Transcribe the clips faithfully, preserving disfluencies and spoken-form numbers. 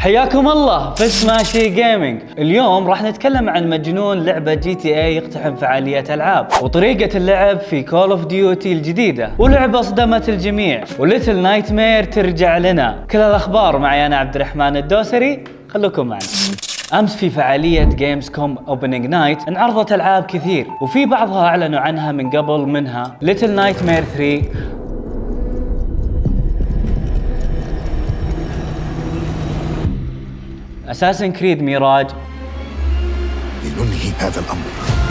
حياكم الله في سماشي جيمنج. اليوم راح نتكلم عن مجنون لعبة جي تي اي يقتحم فعاليات العاب وطريقة اللعب في كول اوف ديوتي الجديدة، ولعبة صدمت الجميع وليتل نايت مير ترجع لنا. كل الاخبار معي انا عبد الرحمن الدوسري، خلوكم معنا. امس في فعالية جيمز كوم اوبننج نايت انعرضت العاب كثير وفي بعضها اعلنوا عنها من قبل، منها ليتل نايت مير ثري، اساسن كريد ميراج، لننهي هذا الامر،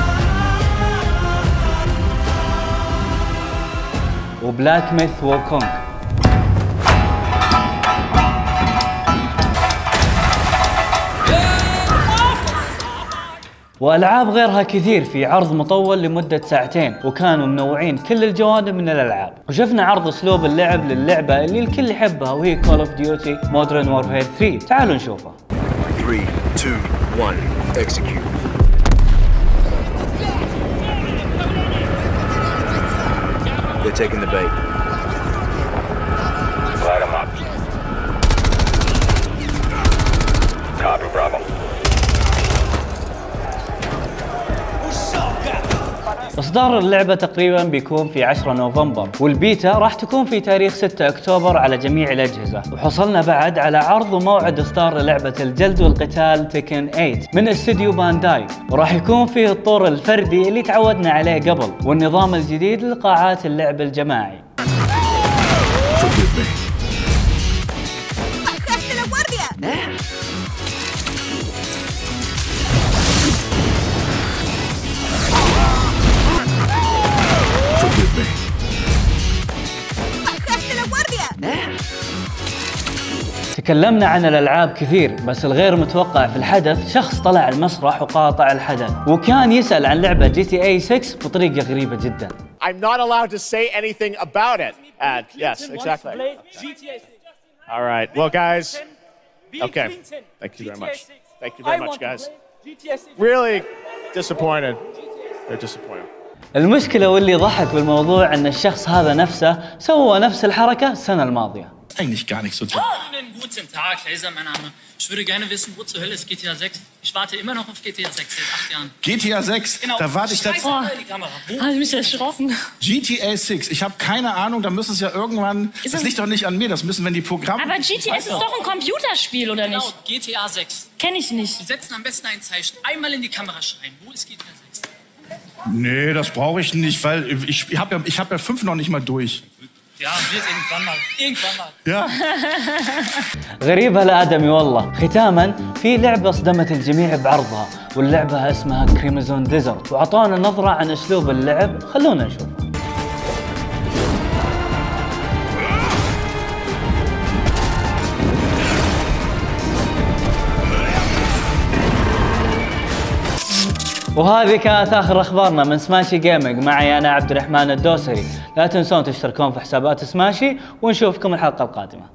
وبلاك ميث ووكونغ. والعاب غيرها كثير في عرض مطول لمدة ساعتين، وكانوا منوعين كل الجوانب من الالعاب. وشفنا عرض اسلوب اللعب للعبة اللي الكل يحبها وهي كول اوف ديوتي مودرن وورفير ثري. تعالوا نشوفه. three, two, one, execute. They're taking the bait. Light them up. Copy, Bravo. إصدار اللعبة تقريبا بيكون في عشرة نوفمبر، والبيتا راح تكون في تاريخ ستة أكتوبر على جميع الأجهزة. وحصلنا بعد على عرض وموعد إصدار للعبة الجلد والقتال تيكن ثمانية من استديو بانداي، وراح يكون فيه الطور الفردي اللي تعودنا عليه قبل، والنظام الجديد لقاعات اللعب الجماعي. تكلمنا عن الألعاب كثير، بس الغير متوقع في الحدث شخص طلع المسرح وقاطع الحدث، وكان يسأل عن لعبة جي تي اي ستة بطريقة غريبة جدا. I'm not allowed to say anything about it. And yes, exactly. All right. Well, guys. Okay. Thank you very much. Thank you very much, guys. Really disappointed. They're disappointed. المشكلة واللي ضحك بالموضوع ان الشخص هذا نفسه سوى نفس الحركة السنة الماضية. Eigentlich gar nicht so toll. Einen guten Tag, Laser, mein Name. Ich würde gerne wissen, wo zur Hölle ist G T A sechs? Ich warte immer noch auf G T A sechs seit acht Jahren. G T A sechs? Genau. Da warte ich seit... Oh, die Kamera. Wo? Habe ich mich erschrocken. G T A sechs, ich habe keine Ahnung, da müssen es ja irgendwann... Ist das das liegt doch nicht an mir, das müssen, wenn die Programme... Aber G T A ist doch ein Computerspiel, oder Genau, nicht? G T A sechs. Kenn ich nicht. Sie setzen am besten ein Zeichen, einmal in die Kamera schreien. Wo ist G T A sechs? Nee, das brauche ich nicht, weil ich habe ja, ich hab ja fünf noch nicht mal durch. Ja, wird irgendwann mal. Irgendwann mal. Ja. غريب هالآدمي والله. ختاما، في لعبة صدمت الجميع بعرضها، واللعبة اسمها كريمزون ديزرت، وعطونا نظرة عن اسلوب اللعب. خلونا نشوف. وهذه كانت آخر أخبارنا من سماشي جيمنج. معي أنا عبد الرحمن الدوسري. لا تنسون تشتركون في حسابات سماشي، ونشوفكم الحلقة القادمة.